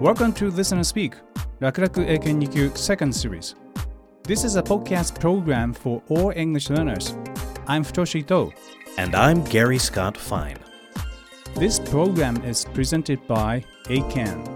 Welcome to Listen and Speak 楽々英検2級 Second Series. This is a podcast program for all English learners. I'm Futoshi Ito. And I'm Gary Scott Fine. This program is presented by ACAN.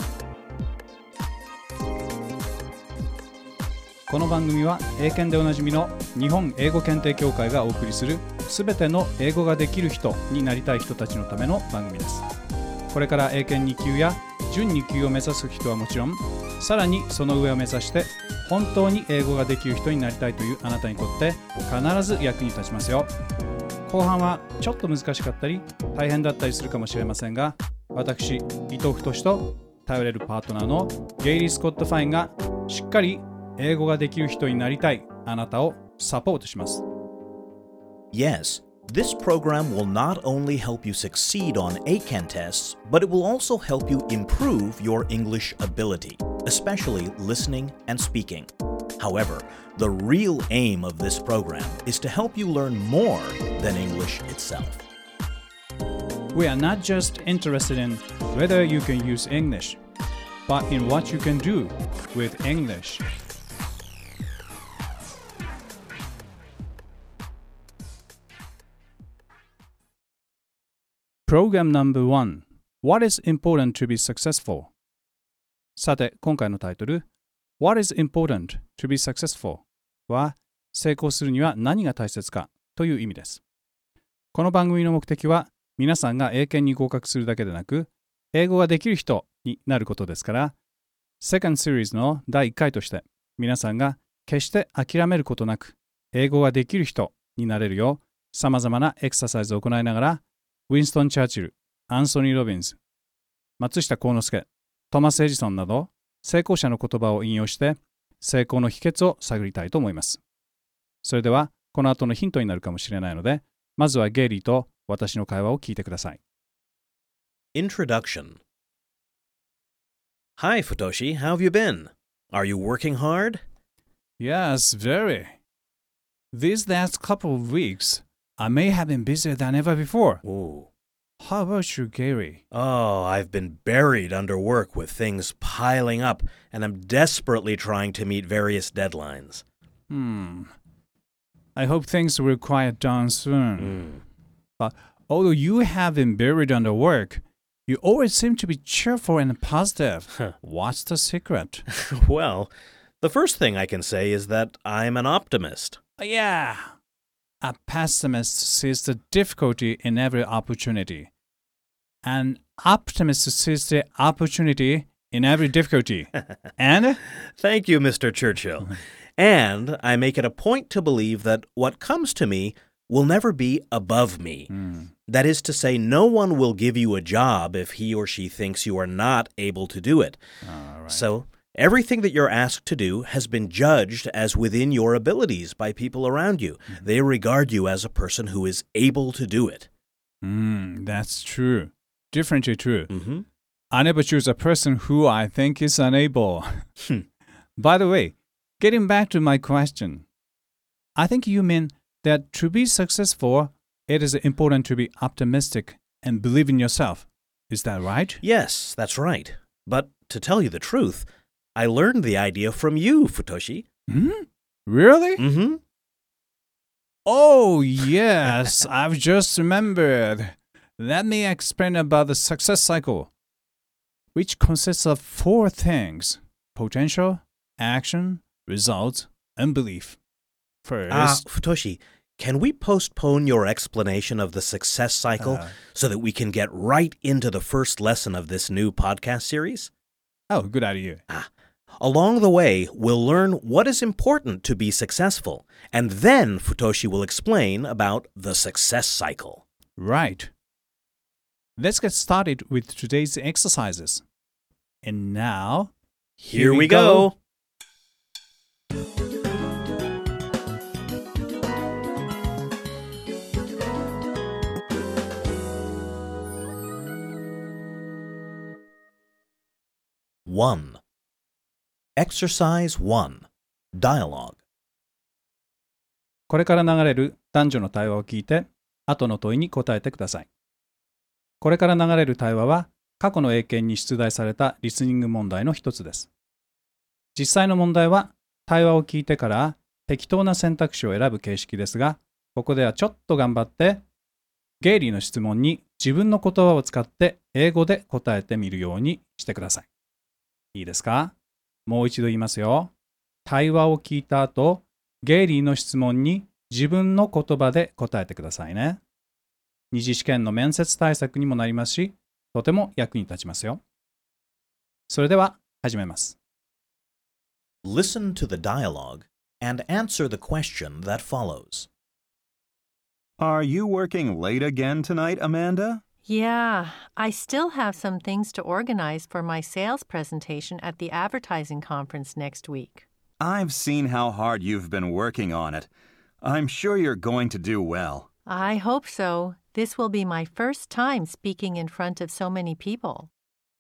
この番組は英検でおなじみの日本英語検定協会がお送りするすべての英語ができる人になりたい人たちのための番組です。これから英検2級や準2級を目指す人はもちろん、さらにその上を目指して本当に英語ができる人になりたいというあなたにとって必ず役に立ちますよ。後半はちょっと難しかったり大変だったりするかもしれませんが、私伊藤太と頼れるパートナーのゲイリー・スコット・ファインがしっかり英語ができる人になりたいあなたをサポートします。 Yes, this program will not only help you succeed on ACAN tests, but it will also help you improve your English ability, especially listening and speaking. However, the real aim of this program is to help you learn more than English itself. We are not just interested in whether you can use English, but in what you can do with English. Program number 1. What is important to be successful? さて、今回のタイトル What is important to be successful? は成功するには何が大切かという意味です。この番組の目的は皆さんが英検に合格するだけでなく、英語ができる人になることですから、Second Series の第1回として皆さんが決して諦めることなく英語ができる人になれるよう様々なエクササイズを行いながら、ウィンストン・チャーチル、アンソニー・ロビンズ、松下幸之助、トマス・エジソンなど成功者の言葉を引用して成功の秘訣を探りたいと思います。それではこの後のヒントになるかもしれないので、まずはゲイリーと私の会話を聞いてください。 Introduction. Hi, Futoshi. How have you been? Are you working hard? Yes, very. These last couple of weeks, I may have been busier than ever before. Ooh. How about you, Gary? Oh, I've been buried under work with things piling up, and I'm desperately trying to meet various deadlines. I hope things will quiet down soon. But although you have been buried under work, you always seem to be cheerful and positive. What's the secret? Well, the first thing I can say is that I'm an optimist. Yeah. A pessimist sees the difficulty in every opportunity. An optimist sees the opportunity in every difficulty. And? Thank you, Mr. Churchill. And I make it a point to believe that what comes to me will never be above me. That is to say, no one will give you a job if he or she thinks you are not able to do it. Right. So, everything that you're asked to do has been judged as within your abilities by people around you. They regard you as a person who is able to do it. That's true. Differently true. I never choose a person who I think is unable. By the way, getting back to my question, I think you mean that to be successful, it is important to be optimistic and believe in yourself. Is that right? Yes, that's right. But to tell you the truth, I learned the idea from you, Futoshi. Really? Oh, yes, I've just remembered. Let me explain about the success cycle, which consists of 4 things: potential, action, results, and belief. First... Futoshi, can we postpone your explanation of the success cycle so that we can get right into the first lesson of this new podcast series? Oh, good idea. Along the way, we'll learn what is important to be successful, and then Futoshi will explain about the success cycle. Right. Let's get started with today's exercises. And now, here we go. One. Exercise 1. Dialogue. これから流れる男女の対話を聞いて、後の問いに答えてください。これから流れる対話は過去の英検に出題されたリスニング問題の一つです。実際の問題は対話を聞いてから適当な選択肢を選ぶ形式ですが、ここではちょっと頑張ってゲイリーの質問に自分の言葉を使って英語で答えてみるようにしてください。いいですか？もう一度言いますよ。対話を聞いた後、ゲイリーの質問に自分の言葉で答えてくださいね。二次試験の面接対策にもなりますし、とても役に立ちますよ。それでは始めます。 Listen to the dialogue and answer the question that follows. Are you working late again tonight, Amanda? Yeah, I still have some things to organize for my sales presentation at the advertising conference next week. I've seen how hard you've been working on it. I'm sure you're going to do well. I hope so. This will be my first time speaking in front of so many people.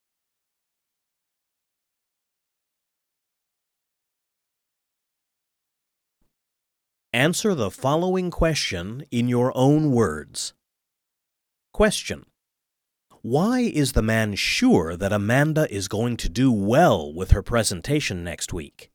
Answer the following question in your own words. Question. Why is the man sure that Amanda is going to do well with her presentation next week?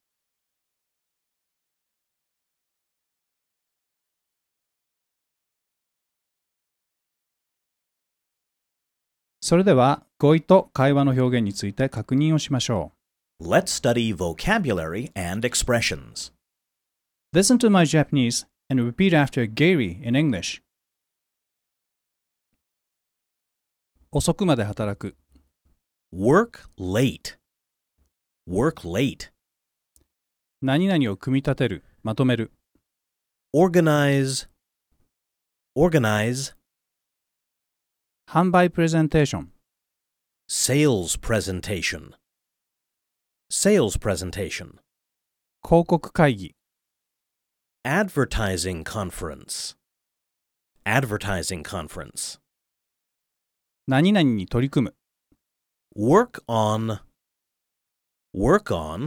「それでは語彙と会話の表現について確認をしましょう。 Let's study vocabulary and expressions. Listen to my Japanese and repeat after Gary in English. 遅くまで働く。 Work late. Work late. 何々を組み立てる、まとめる。 Organize. Organize. 販売プレゼンテーション。 Sales presentation. Sales presentation. 広告会議。 Advertising conference. Advertising conference. 何々に取り組む。 Work on. Work on.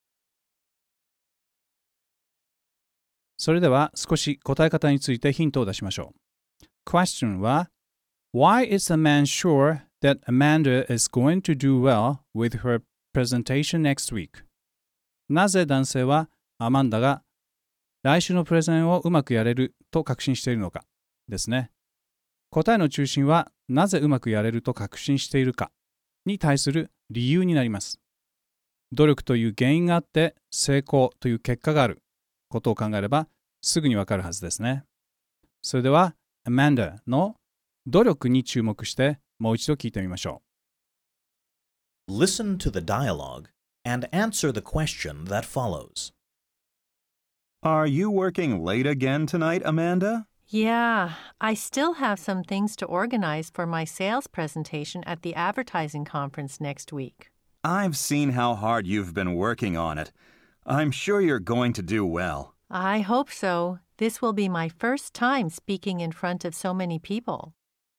それでは少し答え方についてヒントを出しましょう。Question は Why is the man sure that Amanda is going to do well with her presentation next week? なぜ男性はアマンダが来週のプレゼンをうまくやれると確信しているのかですね。答えの中心はなぜうまくやれると確信しているかに対する理由になります。努力という原因があって成功という結果があることを考えればすぐにわかるはずですね。それでは Amanda の努力に注目してもう一度聞いてみましょう。Listen to the dialogue and answer the question that follows. Are you working late again tonight, Amanda? Yeah, I still have some things to organize for my sales presentation at the advertising conference next week. I've seen how hard you've been working on it. I'm sure you're going to do well. I hope so. This will be my first time speaking in front of so many people.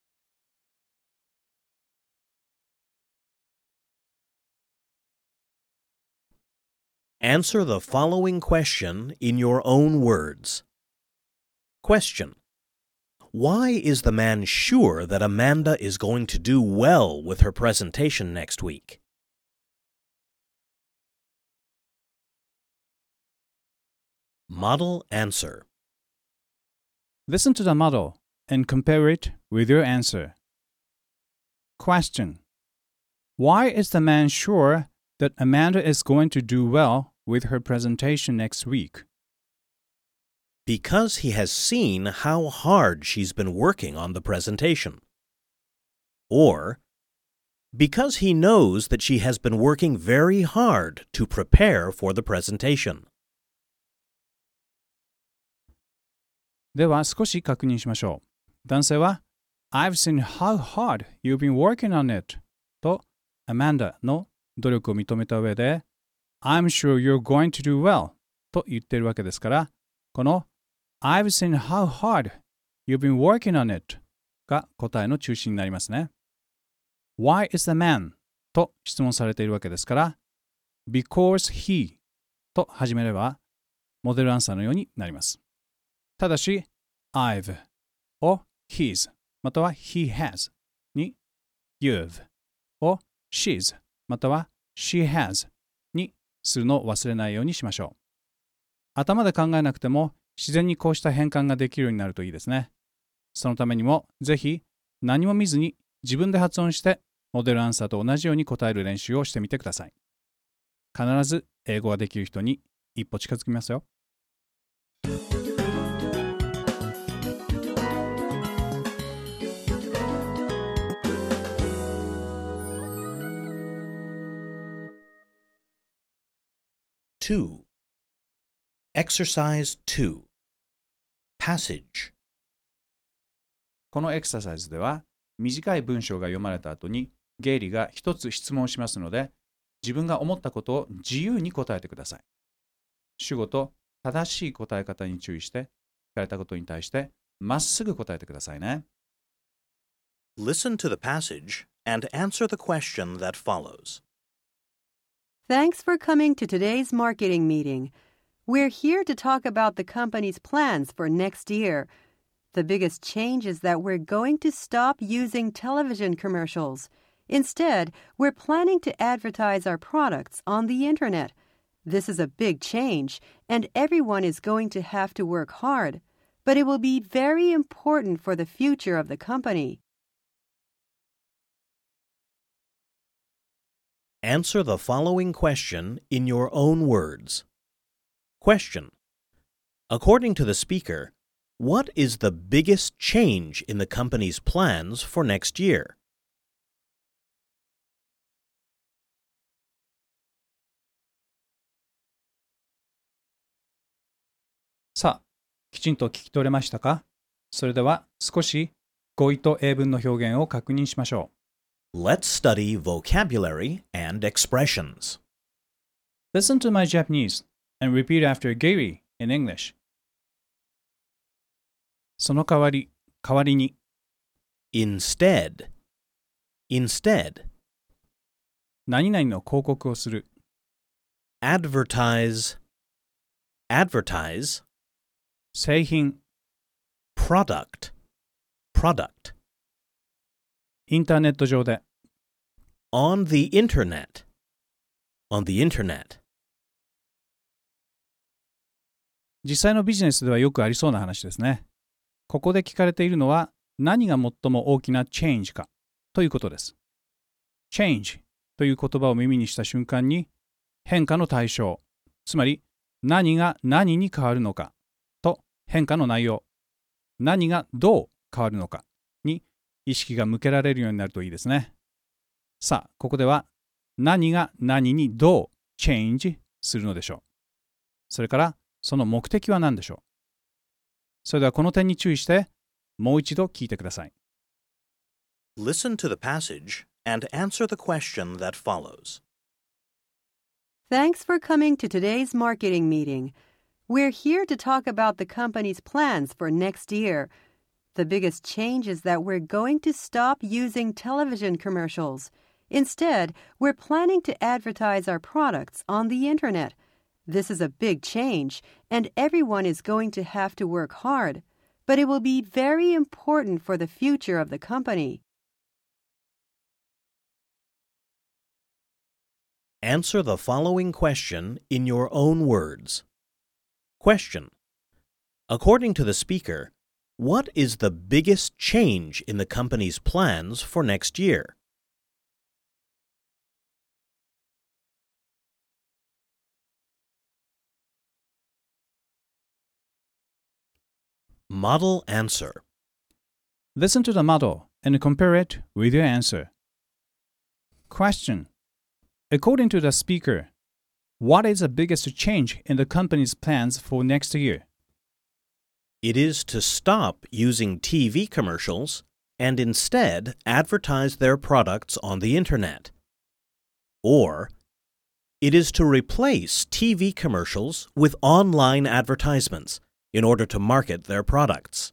Answer the following question in your own words. Question. Why is the man sure that Amanda is going to do well with her presentation next week? Model answer. Listen to the model and compare it with your answer. Question. Why is the man sure that Amanda is going to do well with her presentation next week? Because he has seen how hard she's been working on the presentation. Or, because he knows that she has been working very hard to prepare for the presentation. では少し確認しましょう。男性は I've seen how hard you've been working on it と Amanda の努力を認めた上で I'm sure you're going to do well と言っているわけですから、この I've seen how hard you've been working on it が答えの中心になりますね。Why is the man? と質問されているわけですから、Because he と始めればモデルアンサーのようになります。ただし、I've を his または he has に you've を she's または she has にするのを忘れないようにしましょう。頭で考えなくても自然にこうした変換ができるようになるといいですね。そのためにもぜひ何も見ずに自分で発音してモデルアンサーと同じように答える練習をしてみてください。必ず英語ができる人に一歩近づきますよ。 2. Exercise 2. Passage. このエクササイズでは短い文章が読まれた後にゲイリーが一つ質問しますので、自分が思ったことを自由に答えてください。主語と正しい答え方に注意して、聞かれたことに対してまっすぐ答えてくださいね。 Listen to the passage and answer the question that follows. Thanks for coming to today's marketing meeting. We're here to talk about the company's plans for next year. The biggest change is that we're going to stop using television commercials. Instead, we're planning to advertise our products on the internet. This is a big change, and everyone is going to have to work hard. But it will be very important for the future of the company. Answer the following question in your own words. Question. According to the speaker, what is the biggest change in the company's plans for next year? さあ、きちんと聞き取れましたか？それでは少し語彙と英文の表現を確認しましょう。 Let's study vocabulary and expressions. Listen to my Japanese and repeat after Gary in English. その代わりに Instead. Instead. 何々の広告をする Advertise. Advertise. 製品 Product. Product. インターネット上で On the internet. On the internet. 実際のビジネスではよくありそうな話ですね。ここで聞かれているのは何が最も大きな change かということです。change という言葉を耳にした瞬間に変化の対象、つまり何が何に変わるのかと変化の内容、何がどう変わるのかに意識が向けられるようになるといいですね。さあ、ここでは何が何にどう change するのでしょう。それからその目的は何でしょう。それではこの点に注意してもう一度聞いてください。 Listen to the passage and answer the question that follows. Thanks for coming to today's marketing meeting. We're here to talk about the company's plans for next year. The biggest change is that we're going to stop using television commercials. Instead, we're planning to advertise our products on the internet. This is a big change, and everyone is going to have to work hard. But it will be very important for the future of the company. Answer the following question in your own words. Question. According to the speaker, what is the biggest change in the company's plans for next year? Model answer. Listen to the model and compare it with your answer. Question. According to the speaker, what is the biggest change in the company's plans for next year? It is to stop using TV commercials and instead advertise their products on the internet. Or, it is to replace TV commercials with online advertisements in order to market their products.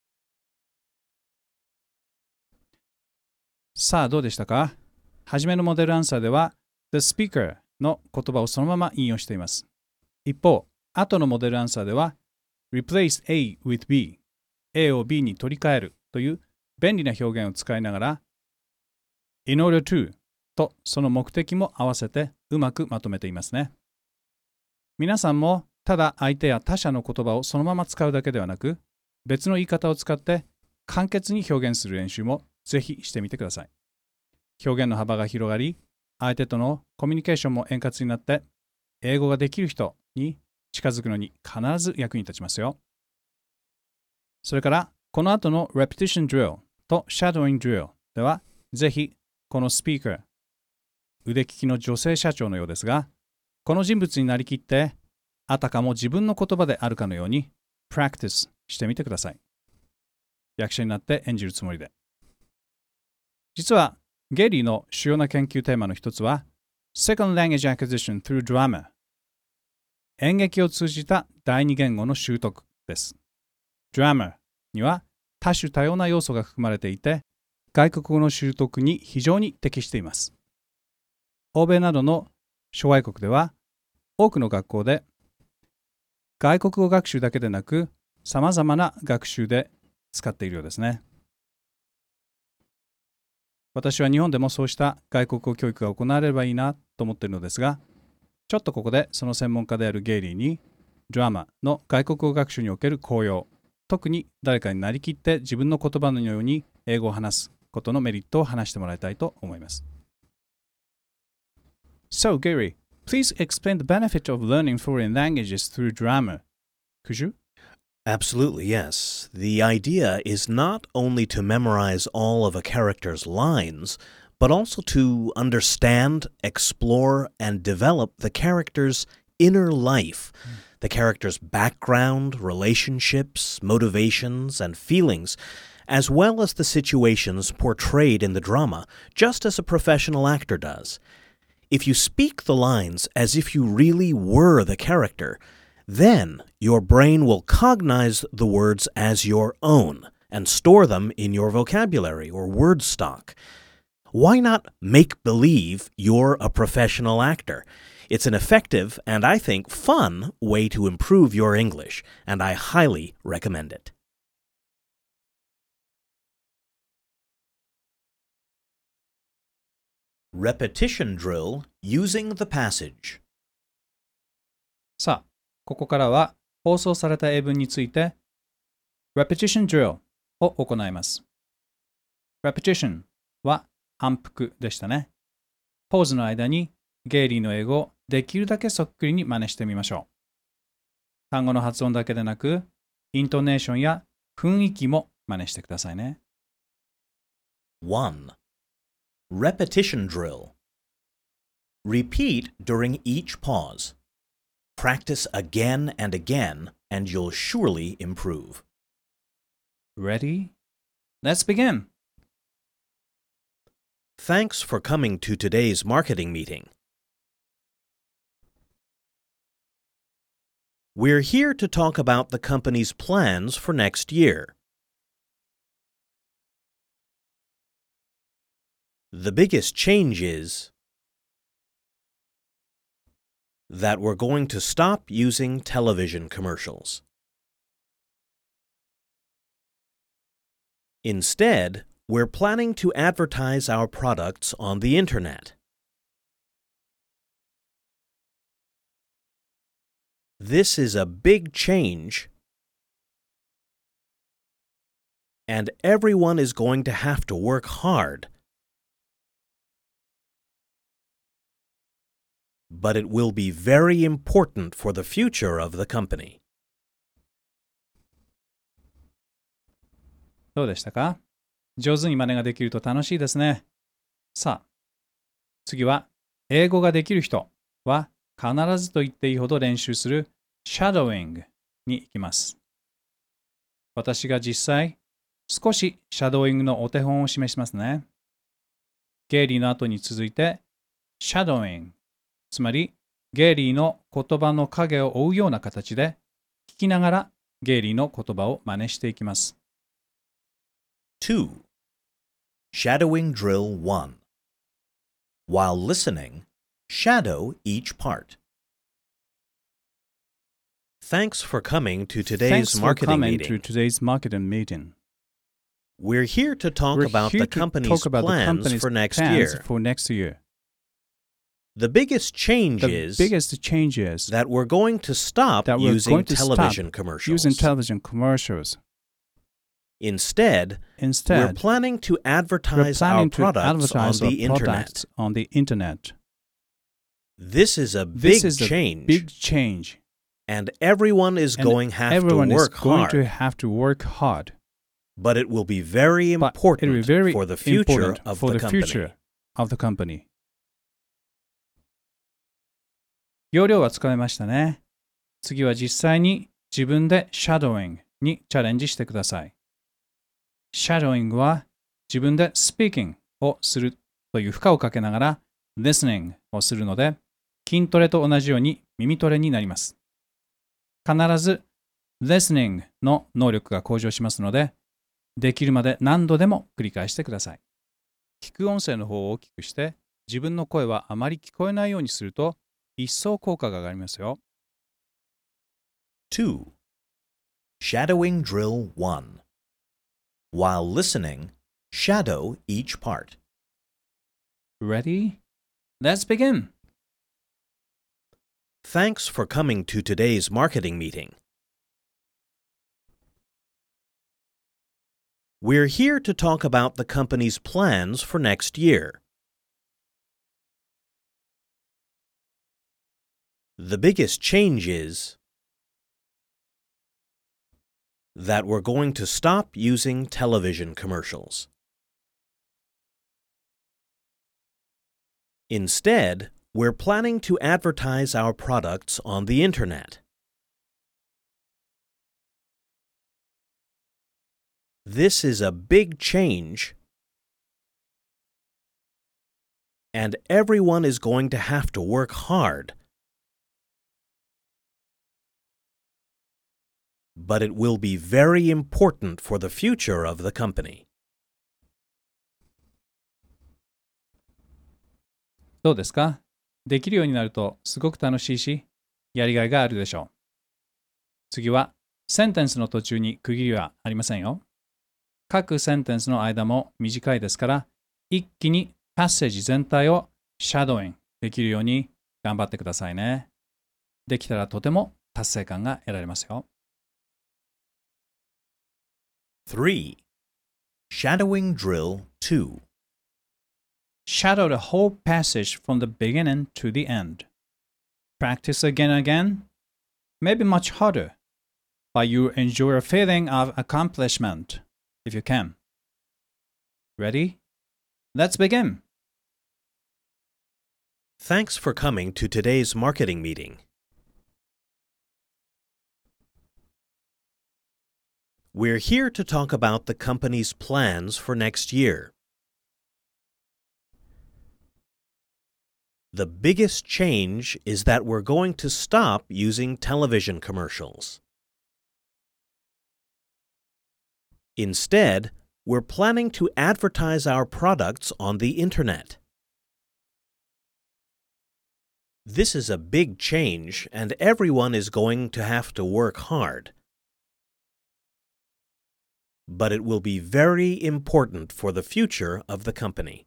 さあどうでしたか？はじめのモデルアンサーでは The speaker の言葉をそのまま引用しています。一方、後のモデルアンサーでは Replace A with B A を B に取り替えるという便利な表現を使いながら In order to とその目的も合わせてうまくまとめていますね。皆さんもただ相手や他者の言葉をそのまま使うだけではなく、別の言い方を使って簡潔に表現する練習もぜひしてみてください。表現の幅が広がり、相手とのコミュニケーションも円滑になって、英語ができる人に近づくのに必ず役に立ちますよ。それから、この後の Repetition Drill と Shadowing Drill では、ぜひこのスピーカー、腕利きの女性社長のようですが、この人物になりきって、あたかも自分の言葉であるかのように Practice してみてください。役者になって演じるつもりで。実は、ゲイリーの主要な研究テーマの一つは、Second Language Acquisition through Drama。演劇を通じた第二言語の習得です。Drama には多種多様な要素が含まれていて、外国語の習得に非常に適しています。欧米などの諸外国では、多くの学校で外国語学習だけでなく、様々な学習で使っているようですね。私は日本でもそうした外国語教育が行われればいいなと思っているのですが、ちょっとここでその専門家であるゲイリーに、ドラマの外国語学習における効用、特に誰かになりきって自分の言葉のように英語を話すことのメリットを話してもらいたいと思います。So, Gary, please explain the benefit of learning foreign languages through drama. Could you? Absolutely, yes. The idea is not only to memorize all of a character's lines, but also to understand, explore, and develop the character's inner life, the character's background, relationships, motivations, and feelings, as well as the situations portrayed in the drama, just as a professional actor does. If you speak the lines as if you really were the character, then your brain will cognize the words as your own and store them in your vocabulary or word stock. Why not make believe you're a professional actor? It's an effective and, I think, fun way to improve your English, and I highly recommend it. Repetition drill using the passage. さあ、ここからは放送された英文について Repetition Drill を行います。Repetition は反復でしたね。ポーズの間にゲイリーの英語をできるだけそっくりに真似してみましょう。単語の発音だけでなく、イントネーションや雰囲気も真似してくださいね。 1. Repetition drill. Repeat during each pause. Practice again and again, and you'll surely improve. Ready? Let's begin. Thanks for coming to today's marketing meeting. We're here to talk about the company's plans for next year. The biggest change is that we're going to stop using television commercials. Instead, we're planning to advertise our products on the internet. This is a big change, and everyone is going to have to work hard. But it will be very important for the future of the company. どうでしたか？上手に真似ができると楽しいですね。さあ、次は英語ができる人は必ずと言っていいほど練習する Shadowing に行きます。私が実際少し Shadowing のお手本を示しますね。ゲイリーの後に続いて Shadowing、つまりゲイリーの言葉の影を追うような形で聞きながらゲイリーの言葉を真似していきます。 2. Shadowing Drill 1. While listening, shadow each part. Thanks for coming to today's marketing meeting. We're here to talk about the company's plans for next year. The biggest change The is biggest change is that we're going to stop that we're using going to television stop commercials. using television commercials. Instead, we're Instead, planning to we're advertise our planning to products advertise on our the internet. products on the internet. This is a This big is a change, big change. and everyone is And going to have everyone to is work going hard. to have to work hard. But it will be very But important it will be very for the future important of for the the company. future of the company. 要領はつかめましたね。次は実際に自分でシャドーイングにチャレンジしてください。シャドーイングは自分でスピーキングをするという負荷をかけながら listening をするので、筋トレと同じように耳トレになります。必ず listening の能力が向上しますので、できるまで何度でも繰り返してください。聞く音声の方を大きくして、自分の声はあまり聞こえないようにすると、一層効果が上がりますよ。 2. Shadowing Drill 1. While listening, shadow each part. Ready? Let's begin! Thanks for coming to today's marketing meeting. We're here to talk about the company's plans for next year. The biggest change is that we're going to stop using television commercials. Instead, we're planning to advertise our products on the internet. This is a big change, and everyone is going to have to work hard. But it will be very important for the future of the company. どうですか？できるようになるとすごく楽しいし、やりがいがあるでしょう。次は、センテンスの途中に区切りはありませんよ。各センテンスの間も短いですから、一気にパッセージ全体をシャドーイングできるように頑張ってくださいね。できたらとても達成感が得られますよ。 3. Shadowing Drill 2. Shadow the whole passage from the beginning to the end. Practice again and again, maybe much harder, but you enjoy a feeling of accomplishment if you can. Ready? Let's begin. Thanks for coming to today's marketing meeting. We're here to talk about the company's plans for next year. The biggest change is that we're going to stop using television commercials. Instead, we're planning to advertise our products on the internet. This is a big change, and everyone is going to have to work hard. But it will be very important for the future of the company.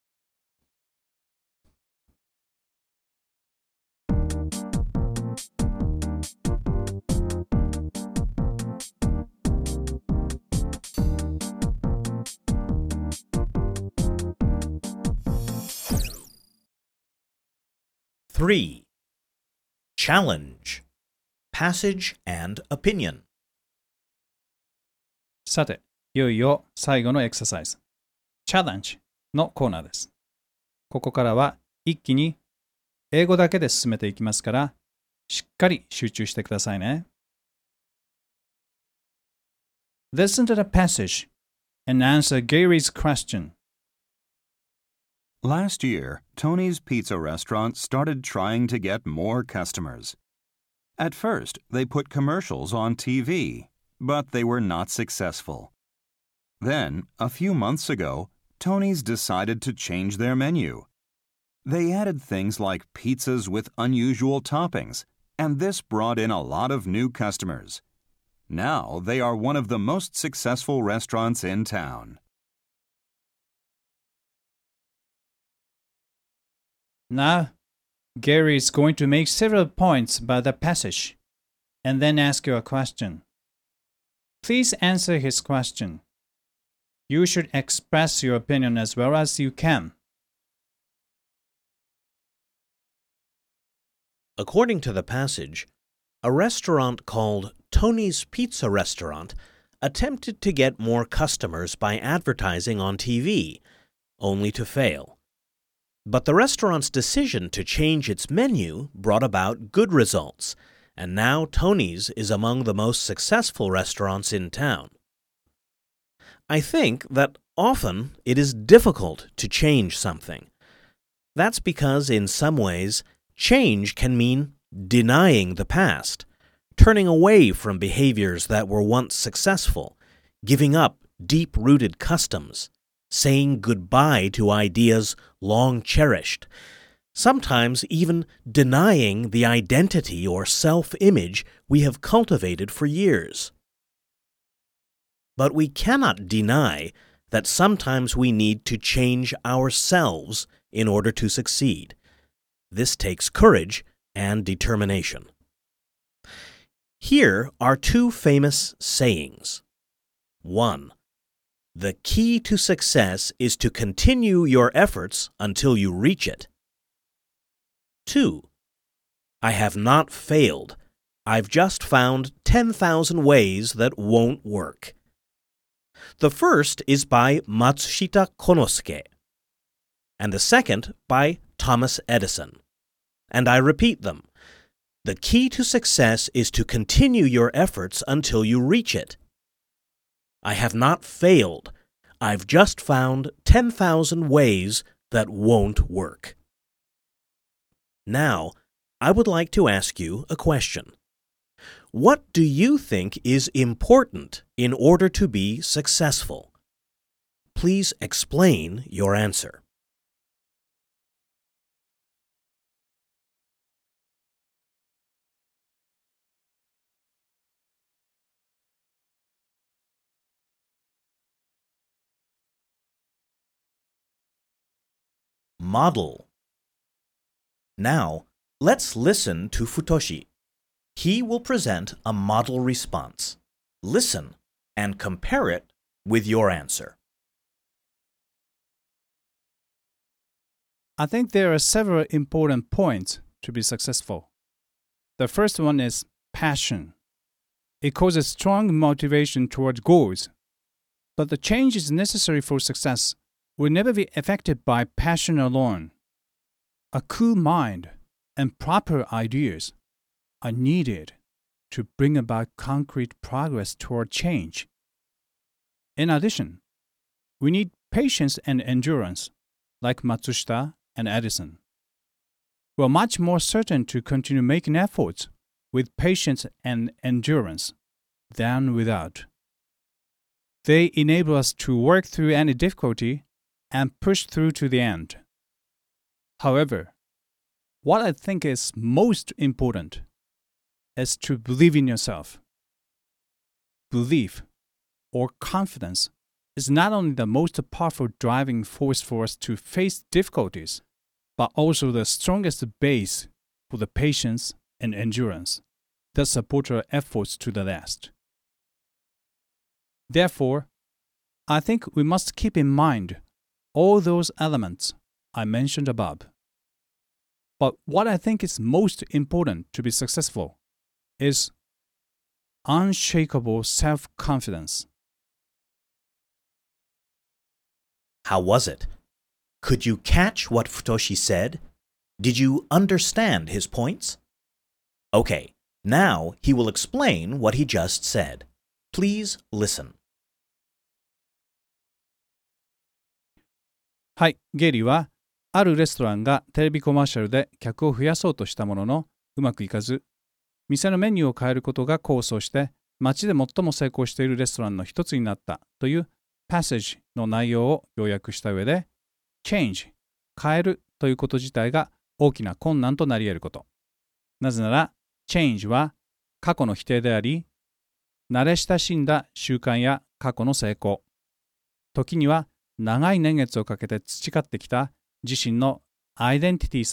Three. Challenge. Passage and opinion. さて、いよいよ最後のエクササイズ、チャレンジのコーナーです。ここからは一気に英語だけで進めていきますから、しっかり集中してくださいね。Listen to the passage and answer Gary's question. Last year, Tony's Pizza Restaurant started trying to get more customers. At first, they put commercials on TV, but they were not successful. Then, a few months ago, Tony's decided to change their menu. They added things like pizzas with unusual toppings, and this brought in a lot of new customers. Now, they are one of the most successful restaurants in town. Now, Gary is going to make several points about the passage and then ask you a question. Please answer his question. You should express your opinion as well as you can. According to the passage, a restaurant called Tony's Pizza Restaurant attempted to get more customers by advertising on TV, only to fail. But the restaurant's decision to change its menu brought about good results, and now Tony's is among the most successful restaurants in town. I think that often it is difficult to change something. That's because in some ways, change can mean denying the past, turning away from behaviors that were once successful, giving up deep-rooted customs, saying goodbye to ideas long cherished, sometimes even denying the identity or self-image we have cultivated for years. But we cannot deny that sometimes we need to change ourselves in order to succeed. This takes courage and determination. Here are two famous sayings. 1. The key to success is to continue your efforts until you reach it. 2. I have not failed. I've just found 10,000 ways that won't work. The first is by Matsushita Konosuke, and the second by Thomas Edison. And I repeat them. The key to success is to continue your efforts until you reach it. I have not failed. I've just found 10,000 ways that won't work. Now, I would like to ask you a question. What do you think is important in order to be successful? Please explain your answer. Model. Now, let's listen to Futoshi. He will present a model response. Listen and compare it with your answer. I think there are several important points to be successful. The first one is passion. It causes strong motivation toward goals, but the changes necessary for success will never be effected by passion alone. A cool mind and proper ideas are needed to bring about concrete progress toward change. In addition, we need patience and endurance, like Matsushita and Edison. We are much more certain to continue making efforts with patience and endurance than without. They enable us to work through any difficulty and push through to the end. However, what I think is most important is to believe in yourself. Belief or confidence is not only the most powerful driving force for us to face difficulties, but also the strongest base for the patience and endurance that support our efforts to the last. Therefore, I think we must keep in mind all those elements I mentioned above. But what I think is most important to be successful is unshakable self-confidence. How was it? Could you catch what Futoshi said? Did you understand his points? Okay, now he will explain what he just said. Please listen. はい、ゲリはあるレストランがテレビコマーシャルで客を増やそうとしたもののうまくいかず、店のメニューを変えることが功を奏して街で最も成功しているレストランの一つになったというパッセージの内容を要約した上で change 変えるということ自体が大きな困難となり得ること。なぜなら change は過去の否定であり、慣れ親しんだ習慣や過去の成功、時には長い年月をかけて培ってきた自身のアイデンティティさえ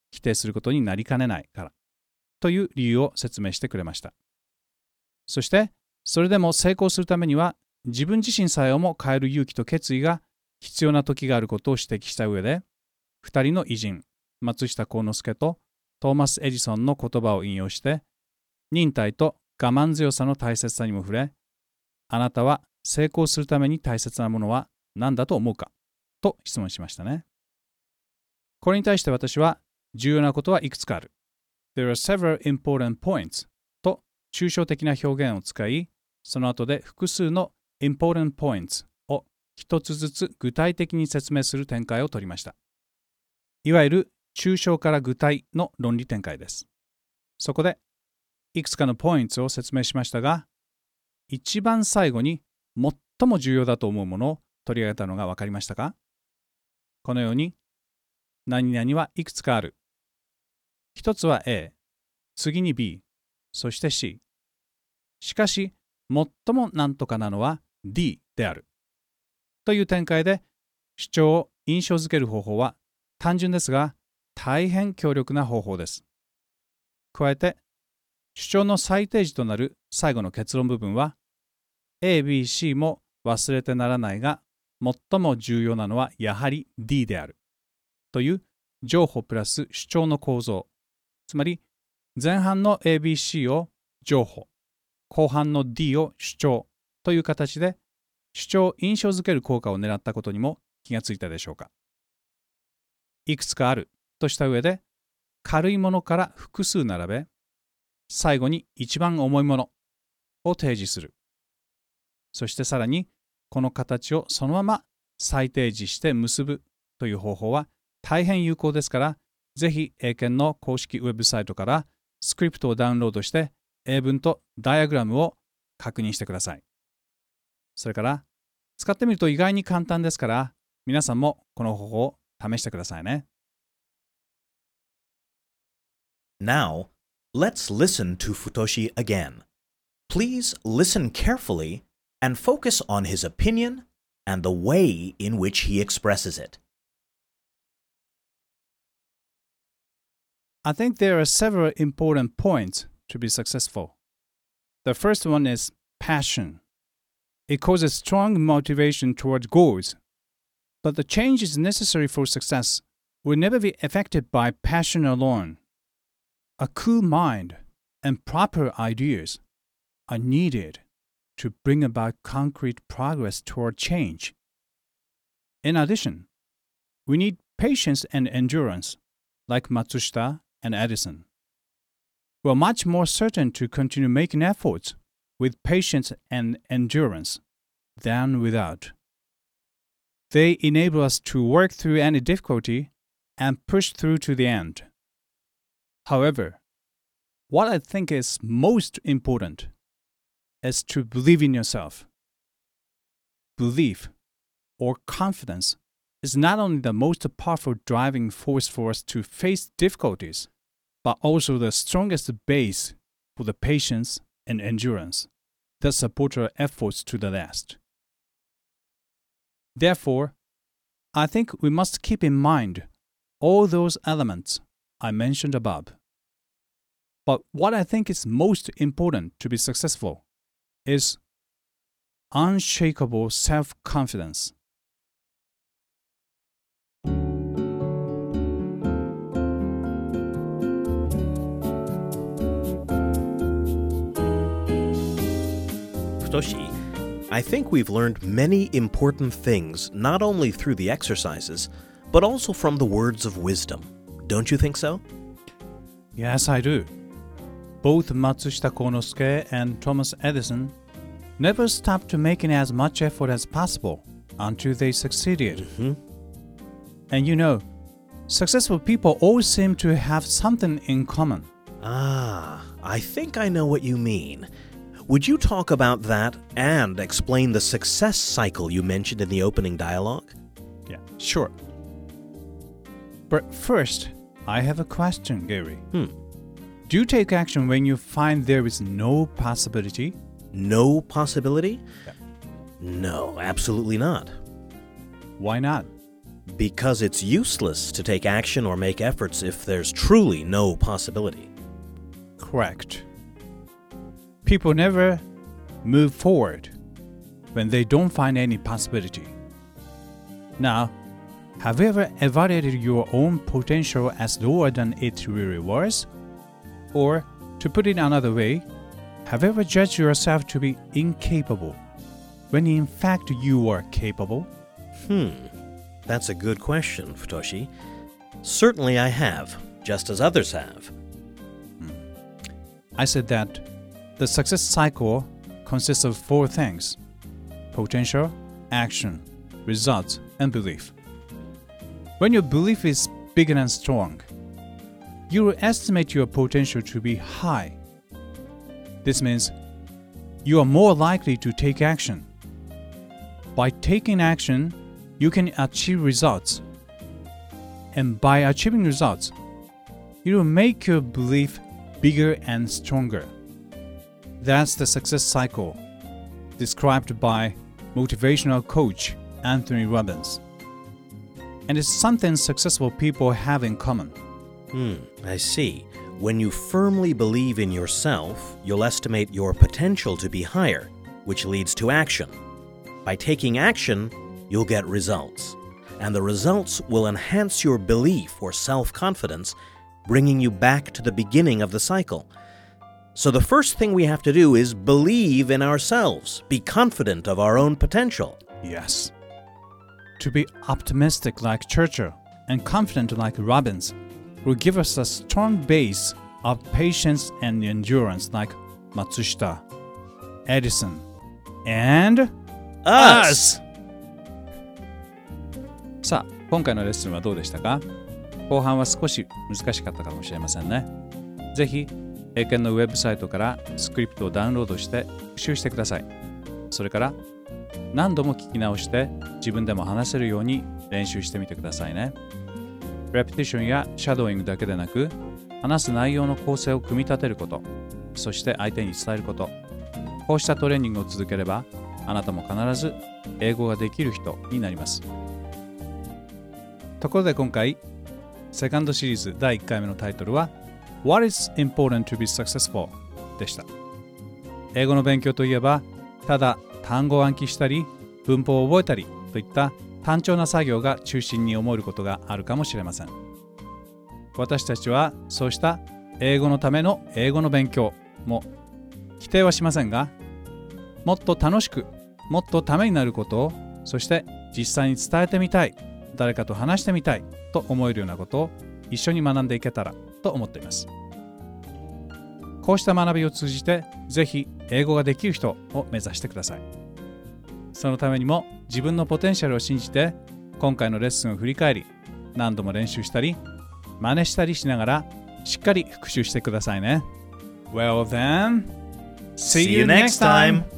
否定することになりかねないからという理由を説明してくれました。そして、それでも成功するためには自分自身さえをも変える勇気と決意が必要な時があることを指摘した上で、2人の偉人、松下幸之助とトーマス・エジソンの言葉を引用して、忍耐と我慢強さの大切さにも触れ、あなたは成功するために大切なものは何だと思うかと質問しましたね。これに対して私は、重要なことはいくつかある。There are several important points と抽象的な表現を使い、その後で複数の important points を一つずつ具体的に説明する展開を取りました。いわゆる抽象から具体の論理展開です。そこで、いくつかのポイントを説明しましたが、一番最後に最も重要だと思うものを取り上げたのが分かりましたか？このように、何々はいくつかある。一つは A、次に B、そして C。しかし、最もなんとかなのは D である。という展開で、主張を印象づける方法は単純ですが、大変強力な方法です。加えて、主張の最低値となる最後の結論部分は、A、B、C も忘れてならないが、最も重要なのはやはり D である。という情報プラス主張の構造。つまり、前半の A、B、C を情報、後半の D を主張という形で、主張を印象づける効果を狙ったことにも気がついたでしょうか。いくつかあるとした上で、軽いものから複数並べ、最後に一番重いものを提示する。そしてさらに、この形をそのまま再提示して結ぶという方法は大変有効ですから、ぜひ英検の公式ウェブサイトからスクリプトをダウンロードして英文とダイアグラムを確認してください。それから使ってみると意外に簡単ですから、皆さんもこの方法を試してくださいね。 Now, let's listen to Futoshi again. Please listen carefully and focus on his opinion and the way in which he expresses it. I think there are several important points to be successful. The first one is passion. It causes strong motivation toward goals, but the changes necessary for success will never be affected by passion alone. A cool mind and proper ideas are needed to bring about concrete progress toward change. In addition, we need patience and endurance, like Matsushita and Edison. We are much more certain to continue making efforts with patience and endurance than without. They enable us to work through any difficulty and push through to the end. However, what I think is most important is to believe in yourself. Belief or confidence is not only the most powerful driving force for us to face difficulties, but also the strongest base for the patience and endurance that support our efforts to the last. Therefore, I think we must keep in mind all those elements I mentioned above. But what I think is most important to be successful is unshakable self-confidence. Futoshi, I think we've learned many important things not only through the exercises, but also from the words of wisdom. Don't you think so? Yes, I do. Both Matsushita Konosuke and Thomas Edison never stopped making as much effort as possible until they succeeded. And you know, successful people always seem to have something in common. Ah, I think I know what you mean. Would you talk about that and explain the success cycle you mentioned in the opening dialogue? Yeah, sure. But first, I have a question, Gary. Do you take action when you find there is no possibility? No possibility? Yeah. No, absolutely not. Why not? Because it's useless to take action or make efforts if there's truly no possibility. Correct. People never move forward when they don't find any possibility. Now, have you ever evaluated your own potential as lower than it really was? Or, to put it another way, have you ever judged yourself to be incapable when in fact you are capable? That's a good question, Futoshi. Certainly I have, just as others have. I said that the success cycle consists of 4 things: potential, action, results, and belief. When your belief is big and strong, you will estimate your potential to be high. This means you are more likely to take action. By taking action, you can achieve results. And by achieving results, it will make your belief bigger and stronger. That's the success cycle, described by motivational coach Anthony Robbins. And it's something successful people have in common. I see. When you firmly believe in yourself, you'll estimate your potential to be higher, which leads to action. By taking action, you'll get results. And the results will enhance your belief or self-confidence, bringing you back to the beginning of the cycle. So the first thing we have to do is believe in ourselves, be confident of our own potential. Yes. To be optimistic like Churchill and confident like Robbins will give us a strong base of patience and endurance like Matsushita, Edison, and Us! さあ、今回のレッスンはどうでしたか？後半は少し難しかったかもしれませんね。ぜひ、英検のウェブサイトからスクリプトをダウンロードして復習してください。それから何度も聞き直して自分でも話せるように練習してみてくださいね。レペティションやシャドーイングだけでなく、話す内容の構成を組み立てること、そして相手に伝えること、こうしたトレーニングを続ければ、あなたも必ず英語ができる人になります。ところで今回、セカンドシリーズ第1回目のタイトルは What is important to be successful? でした。英語の勉強といえば、ただ単語を暗記したり、文法を覚えたりといった単調な作業が中心に思えることがあるかもしれません。私たちはそうした英語のための英語の勉強も否定はしませんが、もっと楽しく、もっとためになることを、そして実際に伝えてみたい、誰かと話してみたいと思えるようなことを一緒に学んでいけたらと思っています。こうした学びを通じて、ぜひ英語ができる人を目指してください。そのためにも自分のポテンシャルを信じて、今回のレッスンを振り返り、何度も練習したり、真似したりしながら、しっかり復習してくださいね。Well then, see you next time!